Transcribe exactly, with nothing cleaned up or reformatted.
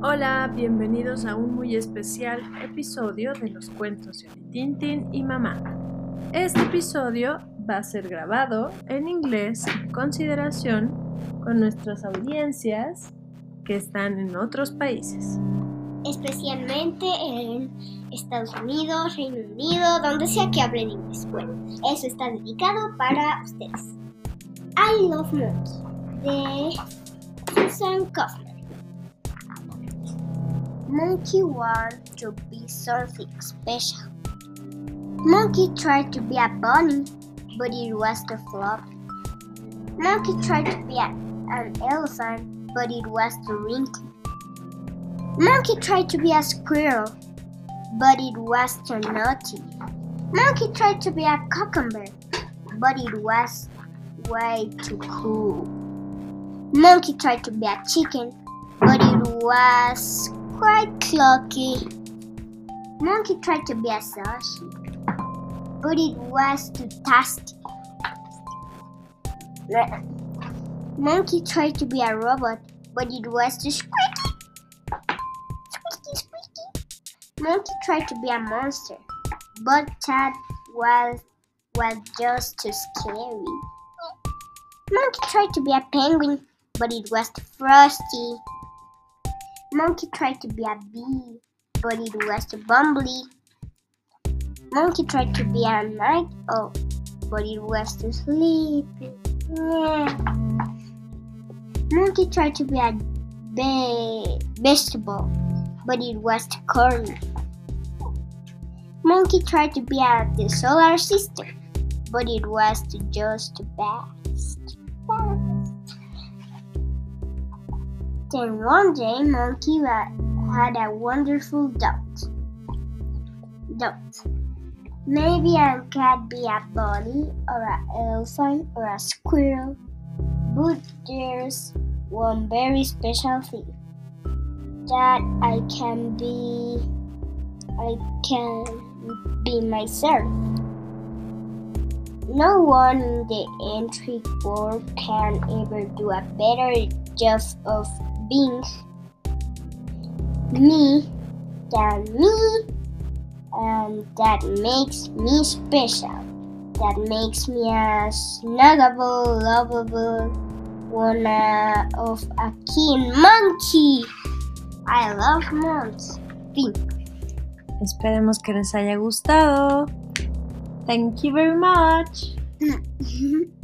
Hola, bienvenidos a un muy especial episodio de los cuentos de Tintín y Mamá. Este episodio va a ser grabado en inglés en consideración con nuestras audiencias que están en otros países. Especialmente en Estados Unidos, Reino Unido, donde sea que hablen inglés. Bueno, eso está dedicado para ustedes. I Love Monkey, de Susan Kaufman. Monkey wanted to be something special. Monkey tried to be a bunny, but it was too flop. Monkey tried to be a, an elephant, but it was too wrinkly. Monkey tried to be a squirrel, but it was too naughty. Monkey tried to be a cucumber, but it was way too cool. Monkey tried to be a chicken, but it was quite clucky. Monkey tried to be a sausage, but it was too tasty. Monkey tried to be a robot, but it was too squeaky. Squeaky, squeaky. Monkey tried to be a monster, but that was, was just too scary. Monkey tried to be a penguin, but it was too frosty. Monkey tried to be a bee, but it was too bumbly. Monkey tried to be a night owl, but it was too sleepy. Monkey tried to be a be- vegetable, but it was too corny. Monkey tried to be at the solar system, but it was too just too fast. Then one day, Monkey had a wonderful thought. Thought. Maybe I can be a bunny or an elephant or a squirrel, but there's one very special thing that I can be. I can be myself. No one in the entry world can ever do a better job of being me than me, and that makes me special. That makes me a snuggable, lovable one uh, of a keen monkey. I love monkeys. Fin. Esperemos que les haya gustado. Thank you very much.